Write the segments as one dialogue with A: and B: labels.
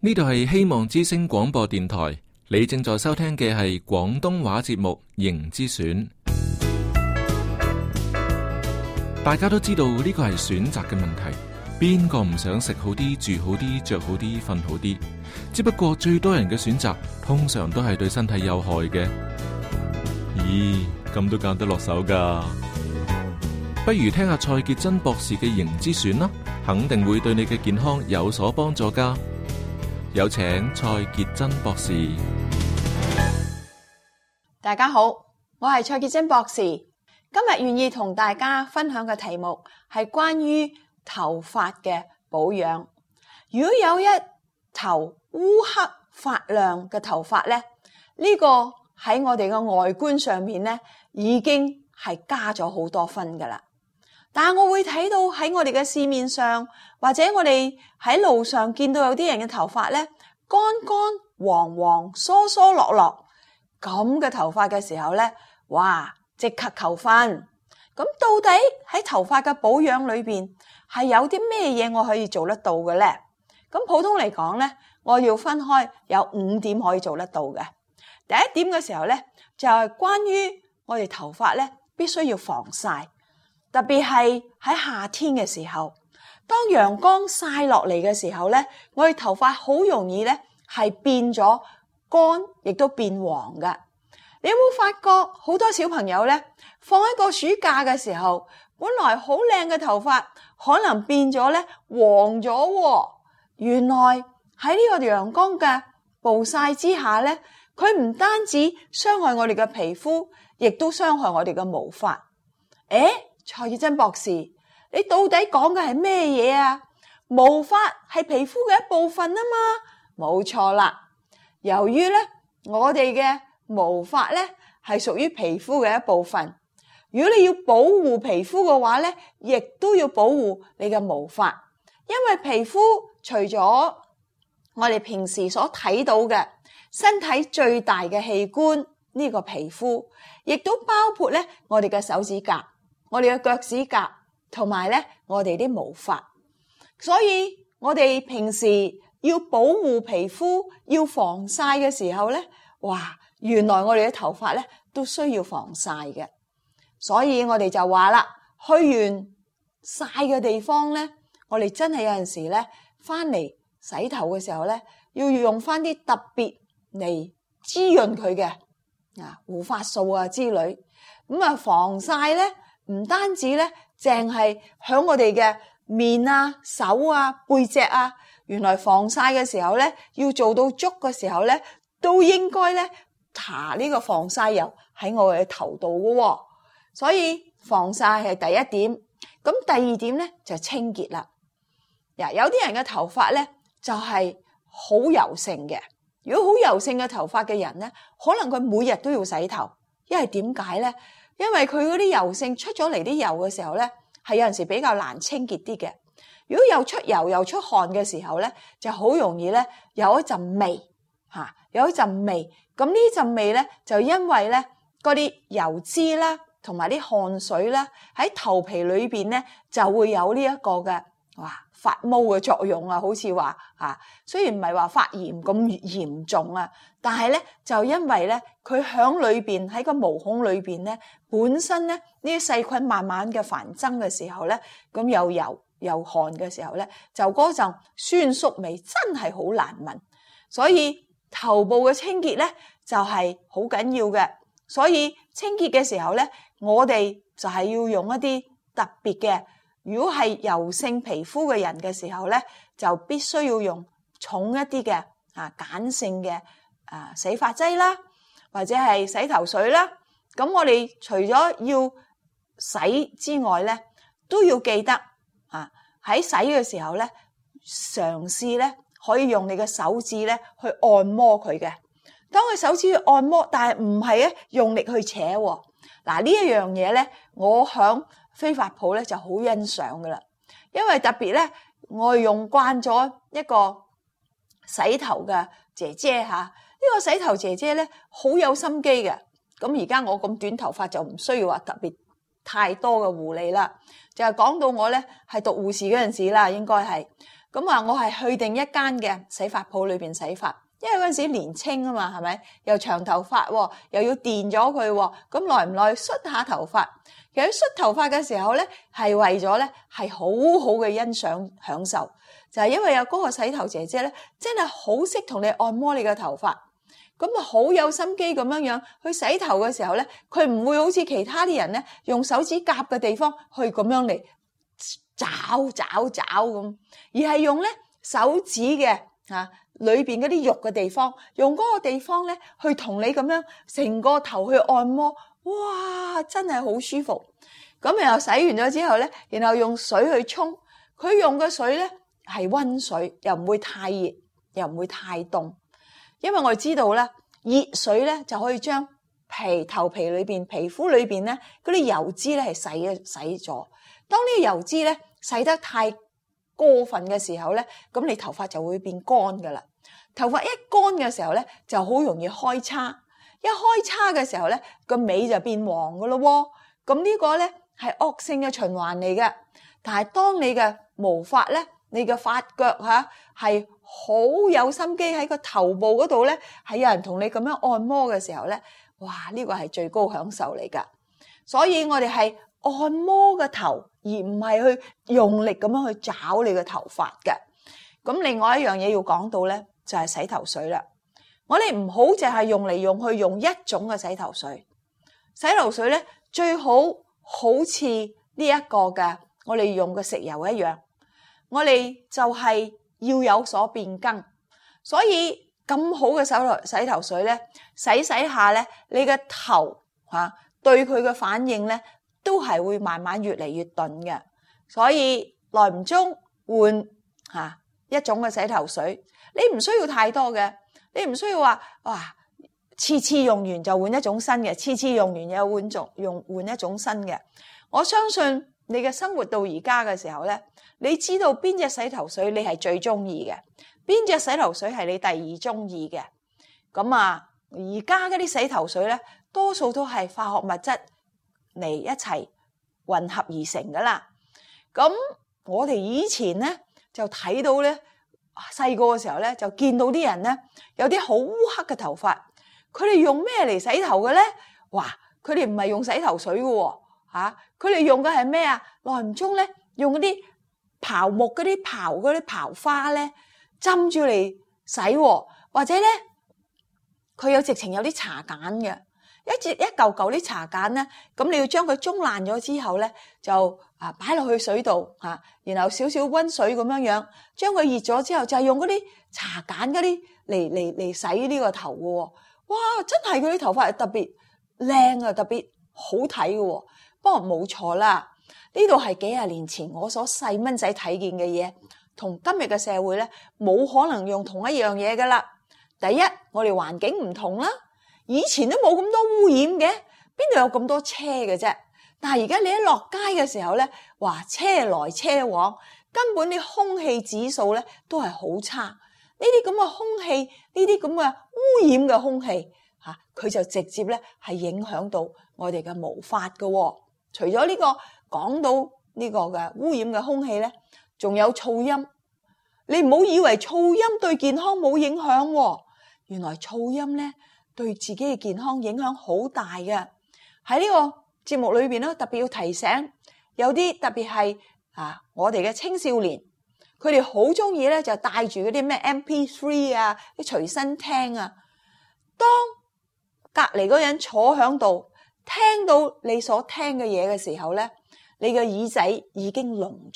A: 呢度係希望之聲廣播電台，你正在收聽嘅係廣東話節目《形之選》。大家都知道呢個係選擇嘅問題，邊個唔想食好啲、住好啲、着好啲、瞓好啲？只不過最多人嘅選擇通常都係對身體有害嘅。咦，咁都揀得落手噶？不如聽下蔡潔真博士嘅《形之選》啦，肯定會對你嘅健康有所幫助噶。有請蔡潔真博士。
B: 大家好，我係蔡潔真博士。今日願意同大家分享嘅題目係關於頭髮嘅保養。如果有一頭烏黑發亮嘅頭髮咧，呢個喺我哋嘅外觀上面咧，已經係加咗好多分噶啦。但係我會睇到喺我哋嘅市面上，或者我哋喺路上見到有啲人嘅頭髮咧，乾乾黃黃、疏疏落落咁嘅頭髮嘅時候咧，哇！即刻扣分。咁到底喺頭髮嘅保養裏邊係有啲咩嘢我可以做得到嘅咧？咁普通嚟講咧，我要分開有5點可以做得到嘅。第一點嘅時候咧，就係關於我哋頭髮咧必須要防曬，特別係喺夏天嘅時候，當陽光曬落嚟嘅時候咧，我哋頭髮好容易咧係變咗乾，亦都變黃嘅。你有冇發覺好多小朋友咧，放一個暑假嘅時候，本來好靚嘅頭髮，可能變咗咧黃咗喎。原來喺呢個陽光嘅暴曬之下咧，佢唔單止傷害我哋嘅皮膚，亦都傷害我哋嘅毛髮。蔡潔真博士，你到底講嘅係咩嘢啊？毛髮係皮膚嘅一部分啊嘛，冇錯啦。由於咧我哋嘅毛髮咧係屬於皮膚嘅一部分，如果你要保護皮膚嘅話咧，亦都要保護你嘅毛髮，因為皮膚除咗我哋平時所睇到嘅身體最大嘅器官呢個皮膚，亦都包括咧我哋嘅手指甲、我哋嘅腳趾甲同埋咧我哋啲毛髮，所以我哋平時要保護皮膚、要防曬嘅時候咧，哇！原來我哋嘅頭髮咧都需要防曬嘅，所以我哋就話啦，去完曬嘅地方咧，我哋真係有陣時咧翻嚟洗頭嘅時候咧，要用翻啲特別嚟滋潤佢嘅護髮素啊之類。咁啊防曬咧唔單止咧淨係響我哋嘅面啊、手啊、背脊啊，原來防曬嘅時候咧要做到足嘅時候咧，都應該咧搽呢個防曬油喺我嘅頭度嘅喎。所以防曬係第一點。咁第二點咧就清潔啦。有啲人嘅頭髮咧就係好油性嘅。如果好油性嘅頭髮嘅人咧，可能佢每日都要洗頭。因為點解咧？因為佢嗰啲油性出咗嚟啲油嘅時候咧，係有陣時比較難清潔啲嘅。如果又出油又出汗嘅時候咧，就好容易咧有一陣味有一陣味。咁呢陣味咧就因為咧嗰啲油脂啦同埋啲汗水啦喺頭皮裏邊咧就會有呢一個嘅發毛嘅作用啊，好似話雖然唔係話發炎咁嚴重啊，但係咧就因為咧佢響裏邊喺個毛孔裏邊咧本身咧呢啲細菌慢慢嘅繁增嘅時候咧，咁有油有汗嘅時候咧，就嗰陣酸餿味真係好難聞。所以頭部嘅清潔咧就係好緊要嘅。所以清潔嘅時候咧，我哋就係要用一啲特別嘅，如果係油性皮膚嘅人嘅時候咧，就必須要用重一啲嘅鹼性嘅洗髮劑啦，或者係洗頭水啦。咁我哋除咗要洗之外咧，都要記得喺洗嘅時候咧，嘗試咧可以用你嘅手指咧去按摩佢嘅。當佢手指去按摩，但係唔係咧用力去扯喎。呢一樣嘢咧，我響飛髮鋪咧就好欣賞噶啦。因為特別咧，我用慣咗一個洗頭嘅姐姐呢個洗頭姐姐咧好有心機嘅。咁而家我咁短頭髮就唔需要話特別太多嘅護理啦。就係講到我咧係讀護士嗰陣時啦，應該係咁啊，我係去定一間嘅洗髮鋪裏邊洗髮，因為嗰陣時年青啊嘛，係咪？又長頭髮喎，又要電咗佢喎，咁耐唔耐捽下頭髮。其實捽頭髮嘅時候咧，係為咗咧係好好嘅欣賞享受，就係因為有嗰個洗頭姐姐咧，真係好識同你按摩你嘅頭髮，咁啊好有心機咁樣去洗頭嘅時候咧，佢唔會好似其他啲人咧用手指甲嘅地方去咁樣嚟找咁，而係用咧手指嘅裏邊嗰啲肉嘅地方，用嗰個地方咧去同你咁樣成個頭去按摩。哇，真係好舒服。咁然後洗完咗之後咧，然後用水去沖，佢用嘅水咧係溫水，又唔會太熱，又唔會太凍。因為我哋知道咧，熱水咧就可以將頭皮裏邊、皮膚裏邊咧嗰啲油脂咧係洗咗。當呢個油脂咧洗得太過分嘅時候咧，咁你頭髮就會變乾噶啦。頭髮一乾嘅時候咧，就好容易開叉。一開叉嘅時候咧，個尾就變黃噶咯喎。咁呢個咧係惡性嘅循環嚟嘅。但係當你嘅毛髮咧，你嘅髮腳係好有心機喺個頭部嗰度咧，係有人同你咁樣按摩嘅時候咧，哇！呢個係最高享受嚟噶。所以我哋係按摩個頭，而唔係去用力咁樣去找你嘅頭髮嘅。咁另外一樣嘢要講到咧，就係洗頭水啦。我哋唔好淨係用嚟用去用一種嘅洗頭水。洗頭水咧最好似呢一個嘅我哋用嘅食油一樣，我哋就係要有所變更。所以咁好嘅洗頭水咧，洗下咧，你嘅頭對佢嘅反應咧，都係會慢慢越嚟越鈍嘅。所以耐唔中換一種嘅洗頭水，你唔需要太多嘅。你唔需要話次次用完就換一種新嘅，次次用完又換一種新嘅。我相信你嘅生活到而家嘅時候咧，你知道邊隻洗頭水你係最中意嘅，邊隻洗頭水係你第二中意嘅。咁而家嗰啲洗頭水咧，多數都係化學物質嚟一齊混合而成噶啦。咁我哋以前咧就睇到咧，細個嘅時候咧，就見到啲人咧有啲好烏黑嘅頭髮，佢哋用咩嚟洗頭嘅咧？哇！佢哋唔係用洗頭水嘅喎，佢哋用嘅係咩啊？耐唔中咧用嗰啲刨木嗰啲刨花咧浸住嚟洗喎，或者咧佢有直情有啲茶鹼嘅，一嚿嚿啲茶鹼咧，咁你要將佢舂爛咗之後咧，就擺落去水度然後少少溫水咁樣將佢熱咗之後，就係用嗰啲茶鹼嗰啲嚟洗呢個頭嘅喎。哇！真係佢啲頭髮係特別靚啊，特別好睇嘅喎。不過冇錯啦，呢度係幾廿年前我所細蚊仔睇見嘅嘢，同今日嘅社會咧冇可能用同一樣嘢噶啦。第一，我哋環境唔同啦，以前都冇咁多污染嘅，邊度有咁多車嘅啫？但係而家你一落街嘅時候咧，哇，車來車往，根本啲空氣指數咧都係好差。呢啲咁嘅空氣，呢啲咁嘅污染嘅空氣佢就直接咧係影響到我哋嘅毛髮嘅喎。除咗呢個講到呢個嘅污染嘅空氣咧，仲有噪音。你唔好以為噪音對健康冇影響喎，原來噪音咧對自己嘅健康影響好大嘅。喺呢個節目裏邊咧，特別要提醒，有啲特別係我哋嘅青少年，佢哋好中意咧就帶住嗰啲咩 MP3 啲隨身聽啊。當隔離嗰人坐響度，聽到你所聽嘅嘢嘅時候咧，你嘅耳仔已經聾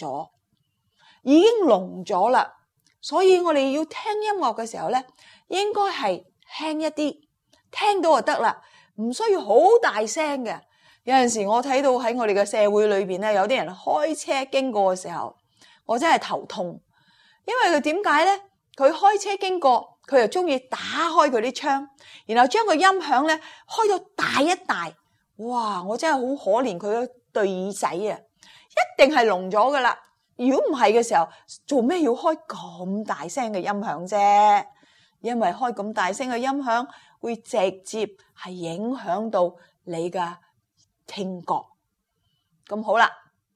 B: 咗啦。所以我哋要聽音樂嘅時候咧，應該係輕一啲，聽到就得啦，唔需要好大聲嘅。有陣時我睇到喺我哋嘅社會裏邊咧，有啲人開車經過嘅時候，我真係頭痛，因為佢點解咧？佢開車經過，佢又中意打開佢啲窗，然後將個音響咧開到大一大。哇！我真係好可憐佢嗰對耳仔啊，一定係聾咗噶啦。如果唔係嘅時候，做咩要開咁大聲嘅音響啫？因為開咁大聲嘅音響會直接係影響到你嘅聽覺。咁好啦，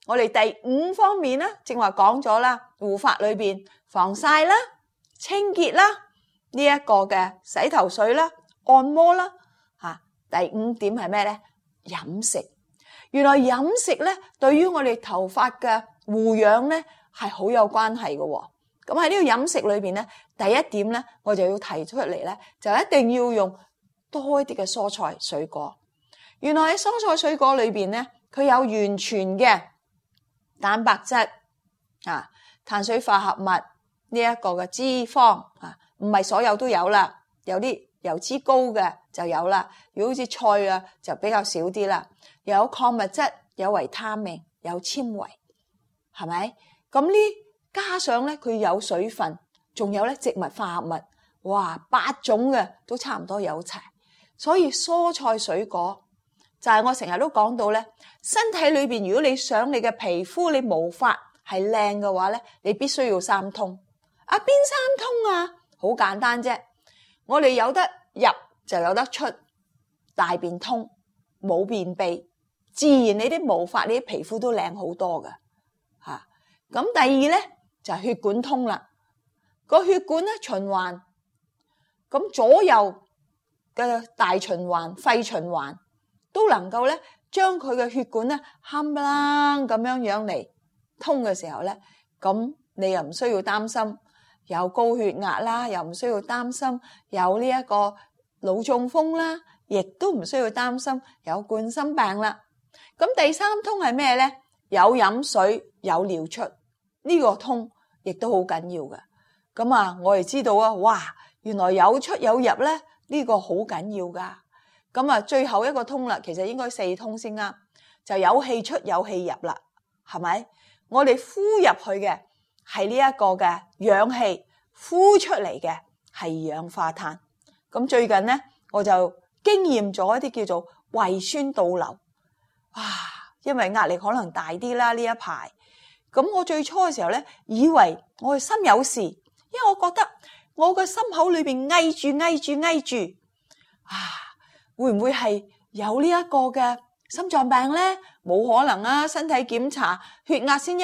B: 我哋第5方面咧，正話講咗啦，護髮裏邊防曬啦、清潔啦，呢一個嘅洗頭水啦、按摩啦，第5點係咩咧？飲食。原來飲食咧，對於我哋頭髮嘅護養咧，係好有關係嘅喎。咁喺呢個飲食裏邊咧，第1點咧，我就要提出嚟咧，就一定要用多一啲嘅蔬菜水果。原來喺蔬菜水果裏邊咧，佢有完全嘅蛋白質碳水化合物呢一個嘅脂肪唔係所有都有啦，有啲油脂高嘅就有啦。如果好似菜啊，就比較少啲啦。有礦物質，有維他命，有纖維，係咪？咁呢加上咧，佢有水分，仲有咧植物化合物，哇，8種嘅都差唔多有齊。所以蔬菜水果就係我成日都講到咧，身體裏邊如果你想你嘅皮膚你毛髮係靚嘅話咧，你必須要3通。邊3通啊？好簡單啫，我哋有得入就有得出，大便通，冇便秘，自然你啲毛髮你啲皮膚都靚好多噶吓。咁第2咧就係血管通啦，個血管咧循環，咁左右嘅大循環、肺循環都能夠咧將佢嘅血管咧冚唪唥咁樣嚟通嘅時候咧，咁你又唔需要擔心有高血壓啦，又唔需要擔心有呢一個腦中風啦，亦都唔需要擔心有冠心病啦。咁第3通係咩咧？有飲水，有尿出，呢個通亦都好緊要嘅。咁我哋知道啊，哇，原來有出有入咧，呢個好緊要噶。咁最後一個通啦，其實應該4通先啱，就有氣出有氣入啦，係咪？我哋呼入去嘅係呢一個嘅氧氣，呼出嚟嘅係二氧化碳。咁最近咧，我就經驗咗一啲叫做胃酸倒流。因為壓力可能大啲啦呢一排。咁我最初嘅時候咧，以為我嘅心有事，因為我覺得我個心口裏邊翳住，會唔會係有呢一個嘅心臟病咧？冇可能啊！身體檢查血壓先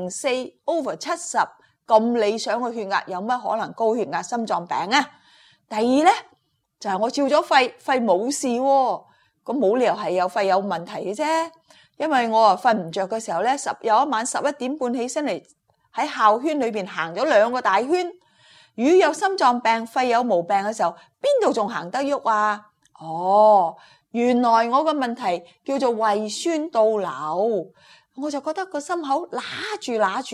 B: 104/70，咁理想嘅血壓，有乜可能高血壓心臟病啊？第2咧就係我照咗肺冇事喎，咁冇理由係有肺有問題嘅啫。因為我瞓唔着嘅時候咧，有一晚11點半起身嚟喺校圈裏邊行咗2個大圈。如果有心臟病、肺有毛病嘅時候，邊度仲行得喐啊？原來我個問題叫做胃酸倒流，我就覺得個心口揦住，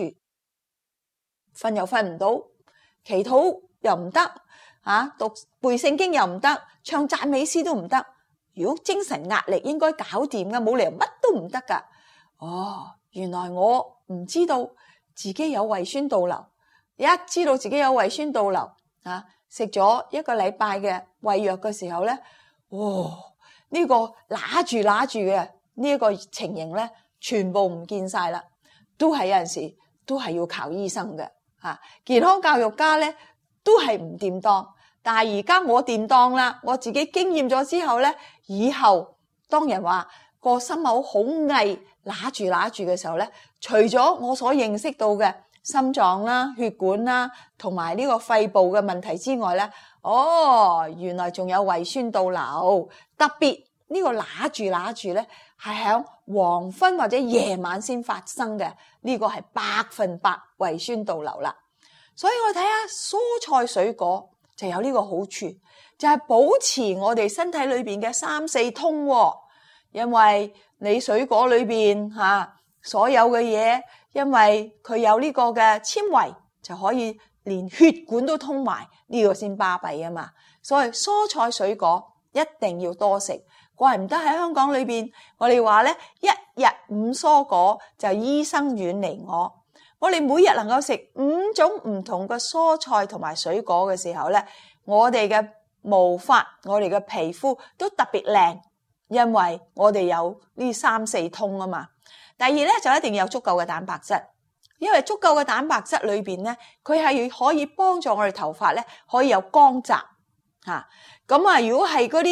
B: 瞓又瞓唔到，祈禱又唔得，讀背聖經又唔得，唱讚美詩都唔得。如果精神壓力應該搞掂噶，冇理由乜都唔得噶。原來我唔知道自己有胃酸倒流，一知道自己有胃酸倒流，食咗1個禮拜嘅胃藥嘅時候咧，呢個揦住嘅呢一個情形咧，全部唔見晒啦。都係有陣時都係要靠醫生嘅。健康教育家咧都係唔掂當。但係而家我掂當啦，我自己經驗咗之後咧，以後當人話個心口好翳揦住嘅時候咧，除咗我所認識到嘅心臟啦、血管啦，同埋呢個肺部嘅問題之外咧，原來仲有胃酸倒流。特別呢個揦住咧，係喺黃昏或者夜晚先發生嘅，呢個係100%胃酸倒流啦。所以我睇下蔬菜水果就有呢個好處，就係保持我哋身體裏邊嘅3、4通。因為你水果裏邊所有嘅嘢，因為佢有呢個嘅纖維，就可以連血管都通埋，呢個先巴閉啊嘛。所以蔬菜水果一定要多食。怪唔得喺香港裏邊，我哋話咧1日5蔬果就醫生遠離我。我哋每日能夠食5種唔同嘅蔬菜同埋水果嘅時候咧，我哋嘅毛髮、我哋嘅皮膚都特別靚，因為我哋有呢3、4通啊嘛。第2咧就一定要有足夠嘅蛋白質，因為足夠嘅蛋白質裏邊咧，佢係可以幫助我哋頭髮咧可以有光澤。咁如果係嗰啲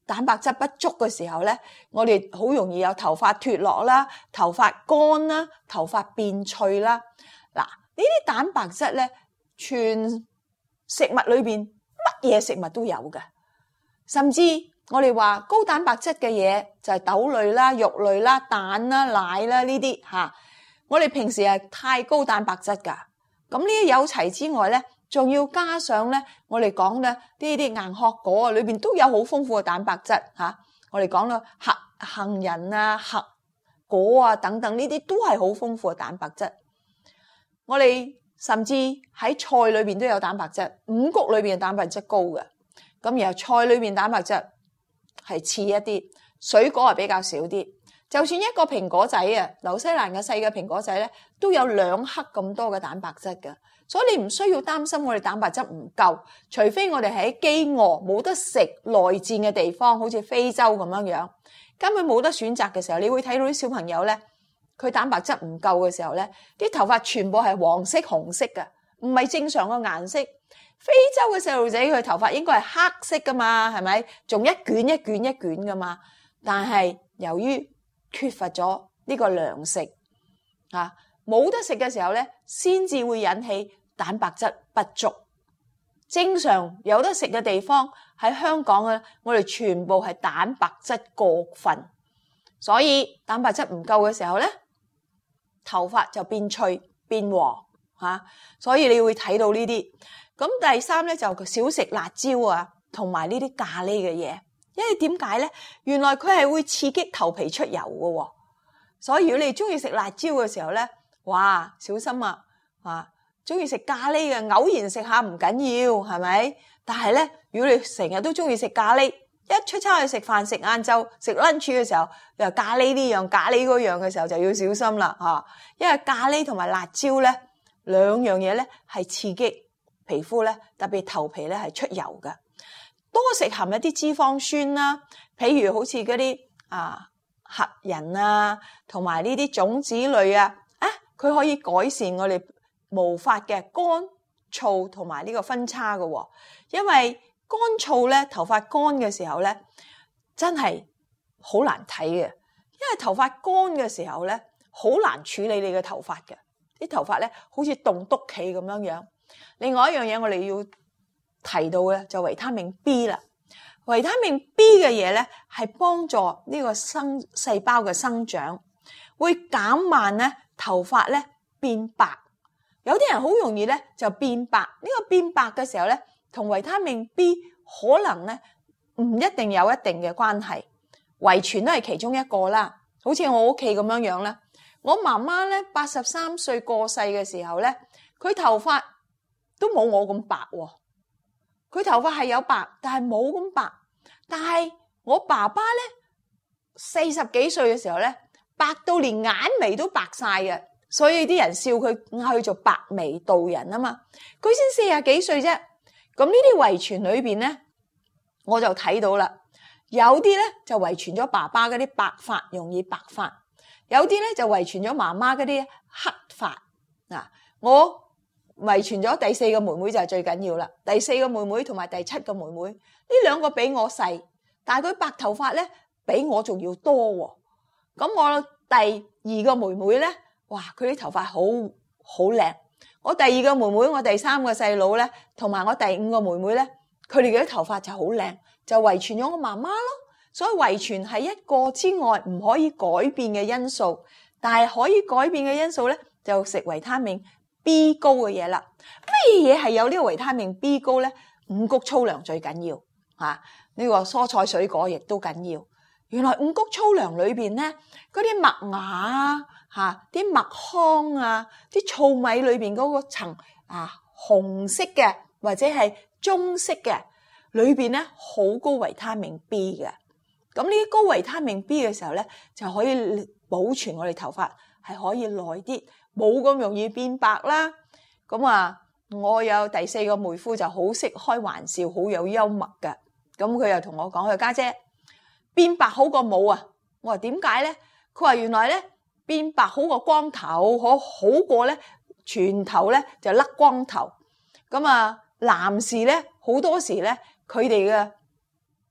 B: 蛋白質不足嘅時候咧，我哋好容易有頭髮脫落啦、頭髮乾啦、頭髮變脆啦。嗱，呢啲蛋白質咧，全食物裏邊乜嘢食物都有嘅，甚至我哋話高蛋白質嘅嘢就係豆類啦、肉類啦、蛋啦、奶啦呢啲嚇。我哋平時係太高蛋白質㗎，咁呢啲有齊之外咧，仲要加上咧，我哋講咧呢啲硬殼果啊，裏邊都有好豐富嘅蛋白質嚇。我哋講啦，杏仁啊、核果啊等等呢啲都係好豐富嘅蛋白質。我哋甚至喺菜裏邊都有蛋白質，五穀裏邊嘅蛋白質高嘅。咁然後菜裏邊蛋白質係次一啲，水果係比較少啲。就算一個蘋果仔啊，紐西蘭嘅細嘅蘋果仔咧，都有2克咁多嘅蛋白質嘅。所以你唔需要擔心我哋蛋白質唔夠，除非我哋喺飢餓冇得食內戰嘅地方，好似非洲咁樣樣，根本冇得選擇嘅時候，你會睇到啲小朋友咧，佢蛋白質唔夠嘅時候咧，啲頭髮全部係黃色、紅色嘅，唔係正常嘅顏色。非洲嘅細路仔佢頭髮應該係黑色噶嘛，係咪？仲一卷一卷一卷噶嘛。但係由於缺乏咗呢個糧食啊，冇得食嘅時候咧，先至會引起蛋白質不足。正常有得食嘅地方喺香港啊，我哋全部係蛋白質過分，所以蛋白質唔夠嘅時候咧，頭髮就變脆變黃嚇。所以你會睇到呢啲。咁第三咧就少食辣椒啊，同埋呢啲咖喱嘅嘢。因為點解咧？原來佢係會刺激頭皮出油嘅喎，所以如果你中意食辣椒嘅時候咧，哇，小心啊！中意食咖喱嘅，偶然食下唔緊要，係咪？但係咧，如果你成日都中意食咖喱，一出差去食飯、食晏晝、食 lunch 嘅時候，又咖喱呢樣、咖喱嗰樣嘅時候，就要小心啦嚇。因為咖喱同埋辣椒咧，兩樣嘢咧係刺激皮膚咧，特別頭皮咧係出油嘅。多食含一啲脂肪酸啦，譬如好似嗰啲核仁啊，同埋呢啲種子類啊，佢可以改善我哋毛髮嘅乾燥同埋呢個分叉嘅。因為乾燥咧，頭髮乾嘅時候咧，真係好難睇嘅。因為頭髮乾嘅時候咧，好難處理你嘅頭髮嘅，啲頭髮咧好似棟篤企咁樣樣。另外一樣嘢我哋要提到嘅就維他命 B 啦。維他命 B 嘅嘢咧係幫助呢個細胞嘅生長，會減慢咧頭髮咧變白。有啲人好容易咧就變白，呢個變白嘅時候咧同維他命 B 可能咧唔一定有一定嘅關係，遺傳都係其中一個啦。好似我屋企咁樣樣啦，我媽媽咧83歲過世嘅時候咧，佢頭髮都冇我咁白喎。佢頭髮係有白，但係冇咁白。但係我爸爸咧40幾歲嘅時候咧，白到連眼眉都白晒嘅，所以啲人笑佢嗌佢做白眉道人啊嘛。佢先40幾歲啫。咁呢啲遺傳裏邊咧，我就睇到啦。有啲咧就遺傳咗爸爸嗰啲白髮，容易白髮；有啲咧就遺傳咗媽媽嗰啲黑髮。嗱，我遺傳咗第4個妹妹就係最緊要啦。第4個妹妹同埋第7個妹妹，呢兩個比我細，但係佢白頭髮咧比我仲要多喎。咁我第2個妹妹咧，哇，佢啲頭髮好靚。我第2個妹妹，我第3個細佬咧，同埋我第5個妹妹咧，佢哋嘅啲頭髮就好靚，就遺傳咗我媽媽咯。所以遺傳係一個之外唔可以改變嘅因素，但係可以改變嘅因素咧，就食維他命B 高嘅嘢啦。咩嘢係有呢個維他命 B 高咧？五穀粗糧最緊要嚇，呢個蔬菜水果亦都緊要。原來五穀粗糧裏邊咧，嗰啲麥芽啊嚇，啲麥糠啊，啲糙米裏邊嗰個層紅色嘅或者係棕色嘅裏邊咧，好高維他命 B 嘅。咁呢啲高維他命 B 嘅時候咧，就可以保存我哋頭髮係可以耐啲，冇咁容易變白啦。咁我有第4個妹夫就好識開玩笑，好有幽默嘅。咁佢又同我講：佢家姐變白好過冇啊！我話點解咧？佢話原來咧變白好過光頭，好過咧全頭咧就甩光頭。咁男士咧好多時咧佢哋嘅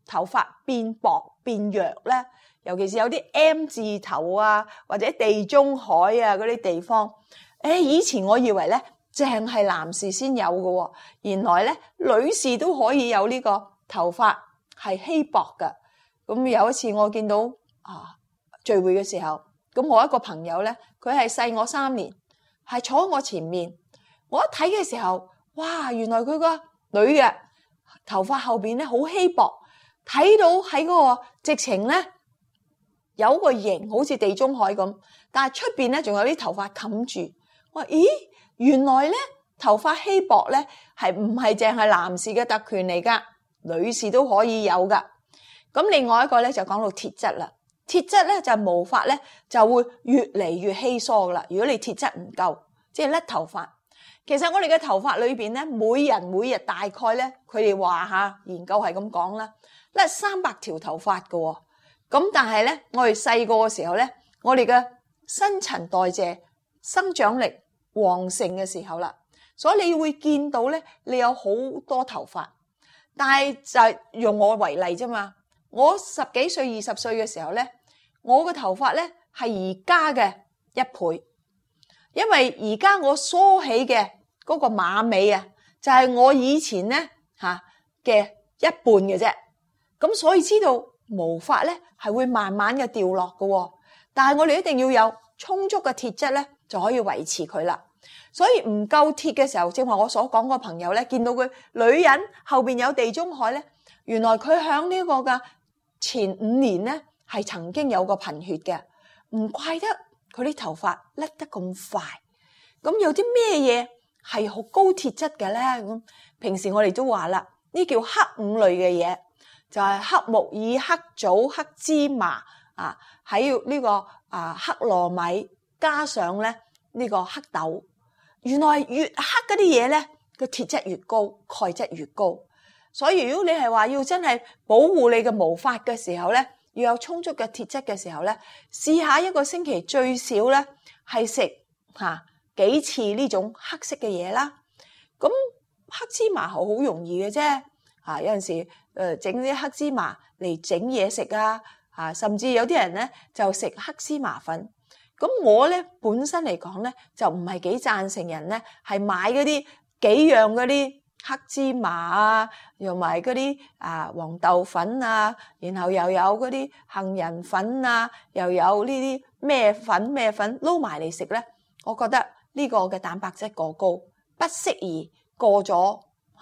B: 頭髮變薄變弱咧？尤其是有啲 M 字頭啊，或者地中海啊嗰啲地方，以前我以為咧淨係男士先有嘅喎，原來咧女士都可以有呢個頭髮係稀薄嘅。咁有一次我見到聚會嘅時候，咁我一個朋友咧，佢係細我3年，係坐喺我前面。我一睇嘅時候，哇！原來佢個女嘅頭髮後邊咧好稀薄，睇到喺嗰個直情咧有個形好似地中海咁，但係出邊咧仲有啲頭髮冚住。我話咦，原來咧頭髮稀薄咧係唔係淨係男士嘅特權嚟噶？女士都可以有噶。咁另外一個咧就講到鐵質啦。鐵質咧就毛髮咧就會越嚟越稀疏噶啦。如果你鐵質唔夠，即係甩頭髮。其實我哋嘅頭髮裏邊咧，每日大概咧，佢哋話研究係咁講啦，甩300條頭髮噶。咁但係咧，我哋細個嘅時候咧，我哋嘅新陳代謝、生長力旺盛嘅時候啦，所以你會見到咧，你有好多頭髮。但係就係用我為例啫嘛，我10幾歲、20歲嘅時候咧，我嘅頭髮咧係而家嘅1倍，因為而家我梳起嘅嗰個馬尾啊，就係我以前咧嘅一半嘅啫。咁所以知道毛髮咧係會慢慢嘅掉落嘅，但係我哋一定要有充足嘅鐵質咧，就可以維持佢啦。所以唔夠鐵嘅時候，正話我所講個朋友咧，見到佢女人後邊有地中海咧，原來佢響呢個嘅前5年咧係曾經有個貧血嘅，唔怪得佢啲頭髮甩得咁快。咁有啲咩嘢係好高鐵質嘅咧？咁平時我哋都話啦，呢叫黑5類嘅嘢，就係黑木耳、黑棗、黑芝麻喺呢個黑糯米，加上咧呢個黑豆。原來越黑嗰啲嘢咧，個鐵質越高，鈣質越高。所以如果你係話要真係保護你嘅毛髮嘅時候咧，要有充足嘅鐵質嘅時候咧，試下一個星期最少咧係食幾次呢種黑色嘅嘢啦。咁黑芝麻好容易嘅啫，有陣時整啲黑芝麻嚟整嘢食甚至有啲人咧就食黑芝麻粉。咁我咧本身嚟講咧就唔係幾贊成人咧係買嗰啲幾樣嗰啲黑芝麻用埋嗰啲黃豆粉然後又有嗰啲杏仁粉又有呢啲咩粉撈埋嚟食咧，我覺得呢個嘅蛋白質過高，不適宜過咗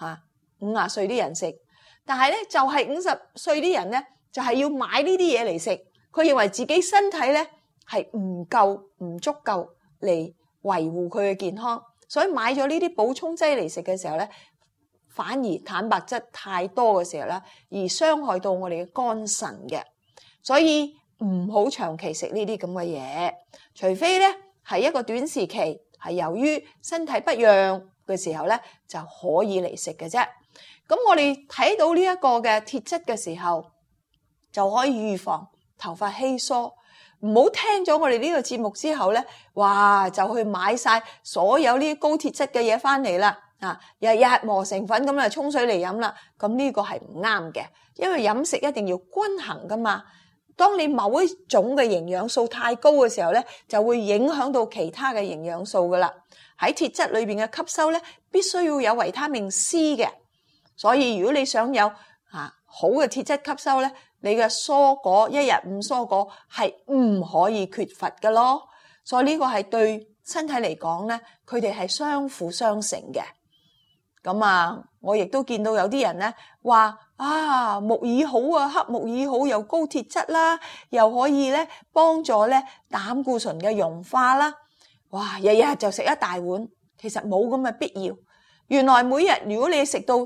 B: 50歲啲人食。但係咧就係50歲啲人咧就係要買呢啲嘢嚟食，佢認為自己身體咧係唔足夠嚟維護佢嘅健康，所以買咗呢啲補充劑嚟食嘅時候咧，反而蛋白質太多嘅時候咧，而傷害到我哋嘅肝腎嘅。所以唔好長期食呢啲咁嘅嘢，除非咧係一個短時期係由於身體不養嘅時候咧就可以嚟食嘅啫。咁我哋睇到呢一個嘅鐵質嘅時候，就可以預防頭髮稀疏。唔好聽咗我哋呢個節目之後咧，哇就去買晒所有呢啲高鐵質嘅嘢翻嚟啦，日日磨成粉咁沖水嚟飲啦。咁呢個係唔啱嘅，因為飲食一定要均衡噶嘛。當你某一種嘅營養素太高嘅時候咧，就會影響到其他嘅營養素噶啦。喺鐵質裏邊嘅吸收咧，必須要有維他命 C 嘅。所以如果你想有好嘅鐵質吸收咧，你嘅蔬果一日5蔬果係唔可以缺乏嘅咯。所以呢個係對身體嚟講咧，佢哋係相輔相成嘅。咁我亦都見到有啲人咧話木耳好黑木耳好，又高鐵質啦，又可以咧幫助咧膽固醇嘅溶化啦。哇，日日就食一大碗，其實冇咁嘅必要。原來每日如果你食到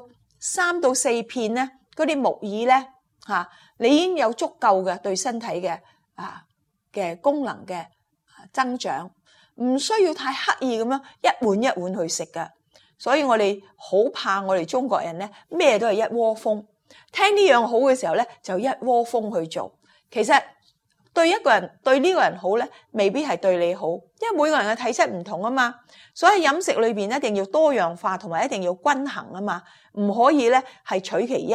B: 3到4片咧，嗰啲木耳咧你已經有足夠嘅對身體嘅功能嘅增長，唔需要太刻意咁樣一碗一碗去食噶。所以我哋好怕我哋中國人咧，咩都係一窩蜂，聽呢樣好嘅時候咧，就一窩蜂去做。其實對一個人對呢個人好咧，未必係對你好，因為每個人嘅體質唔同啊嘛。所以飲食裏邊一定要多樣化，同埋一定要均衡啊嘛，唔可以咧係取其一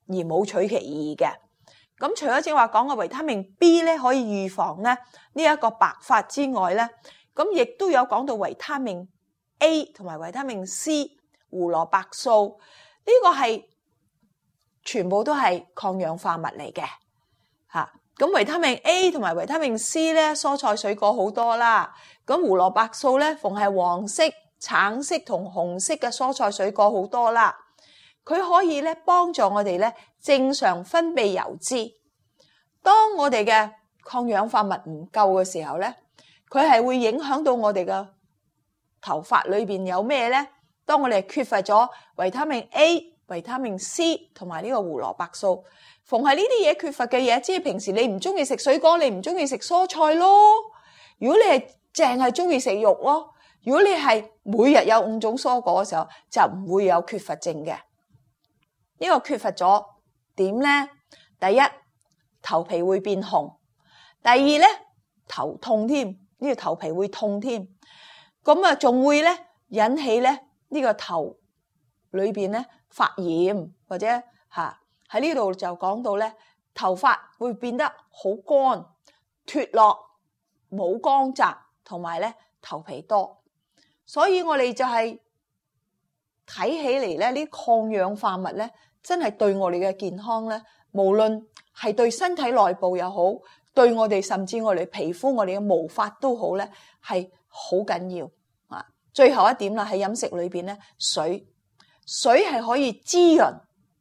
B: 而冇取其意嘅。咁除咗正話講嘅維他命 B 咧可以預防咧呢一個白髮之外咧，咁亦都有講到維他命 A 同埋維他命 C、胡蘿蔔素，呢個係全部都係抗氧化物嚟嘅嚇。咁維他命 A 同埋維他命 C 咧，蔬菜水果好多啦。咁胡蘿蔔素咧，逢係黃色、橙色同紅色嘅蔬菜水果好多啦。佢可以咧幫助我哋咧正常分泌油脂。當我哋嘅抗氧化物唔夠嘅時候咧，佢係會影響到我哋嘅頭髮裏邊有咩咧？當我哋缺乏咗維他命 A、維他命 C 同埋呢個胡蘿蔔素，逢係呢啲嘢缺乏嘅嘢，即係平時你唔中意食水果，你唔中意食蔬菜咯。如果你係淨係中意食肉咯，如果你係每日有5種蔬果嘅時候，就唔會有缺乏症嘅。呢個缺乏咗點咧？第一，頭皮會變紅；第二咧，頭痛添，呢個頭皮會痛添。咁啊，仲會咧引起咧呢個頭裏邊咧發炎，或者喺呢度就講到咧頭髮會變得好乾、脫落、冇光澤，同埋咧頭皮多。所以我哋就係睇起嚟咧呢抗氧化物咧，真係對我哋嘅健康咧，無論係對身體內部又好，對我哋甚至我哋皮膚、我哋嘅毛髮都好咧，係好緊要啊！最後一點啦，喺飲食裏邊咧，水係可以滋潤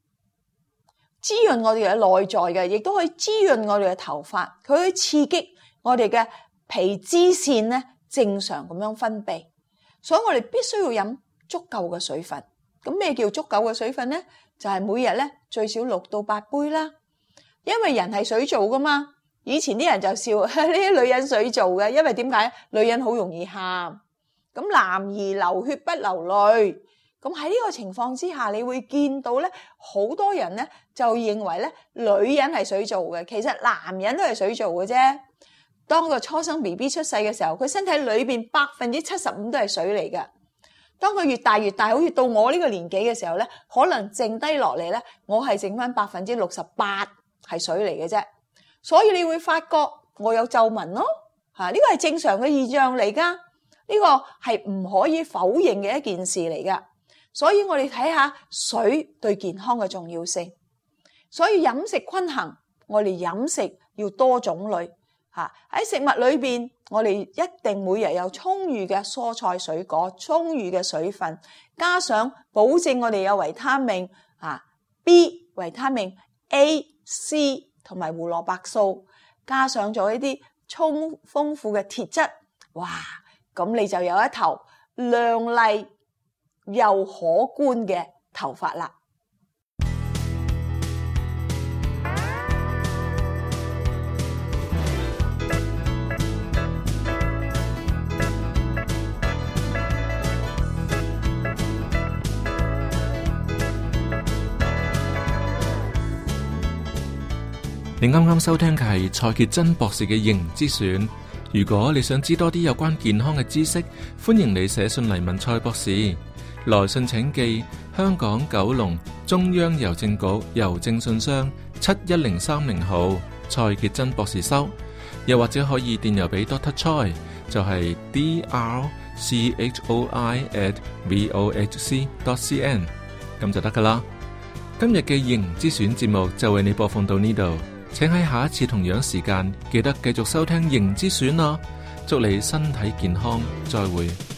B: 我哋嘅內在嘅，亦都可以滋潤我哋嘅頭髮，佢可以刺激我哋嘅皮脂腺咧正常咁樣分泌。所以我哋必須要飲足夠嘅水分。咁咩叫足夠嘅水分咧？就係每日咧最少6到8杯啦。因為人係水做噶嘛。以前啲人就笑呢啲女人水做嘅，因為點解？女人好容易喊，咁男兒流血不流淚。咁喺呢個情況之下，你會見到咧好多人咧就認為咧女人係水做嘅，其實男人都係水做嘅啫。當個初生 BB 出世嘅時候，佢身體裏邊75%都係水嚟嘅。當佢越大越大，好似到我呢個年紀嘅時候咧，可能剩低落嚟咧，我係剩翻68%係水嚟嘅啫。所以你會發覺我有皺紋咯，呢個係正常嘅現象嚟噶，呢個係唔可以否認嘅一件事嚟噶。所以我哋睇下水對健康嘅重要性。所以飲食均衡，我哋飲食要多種類。喺食物裏邊，我哋一定每日有充裕嘅蔬菜水果，充裕嘅水分，加上保證我哋有維他命B、維他命 A、C 同埋胡蘿蔔素，加上咗一啲豐富嘅鐵質，哇！咁你就有一頭亮麗又可觀嘅頭髮啦。
A: 你啱啱收聽嘅係蔡潔真博士嘅營之選。如果你想知多啲有關健康嘅知識，歡迎你寫信嚟問蔡博士。來信請寄香港9龍中央郵政局郵政信箱71030號，蔡潔真博士收。又或者可以電郵俾 Dr. Choi， 就係 drchoi@vohc.cn， 咁就得噶啦。今日嘅營之選節目就為你播放到呢度。請喺下一次同樣時間記得繼續收聽營之選啦！祝你身體健康，再會。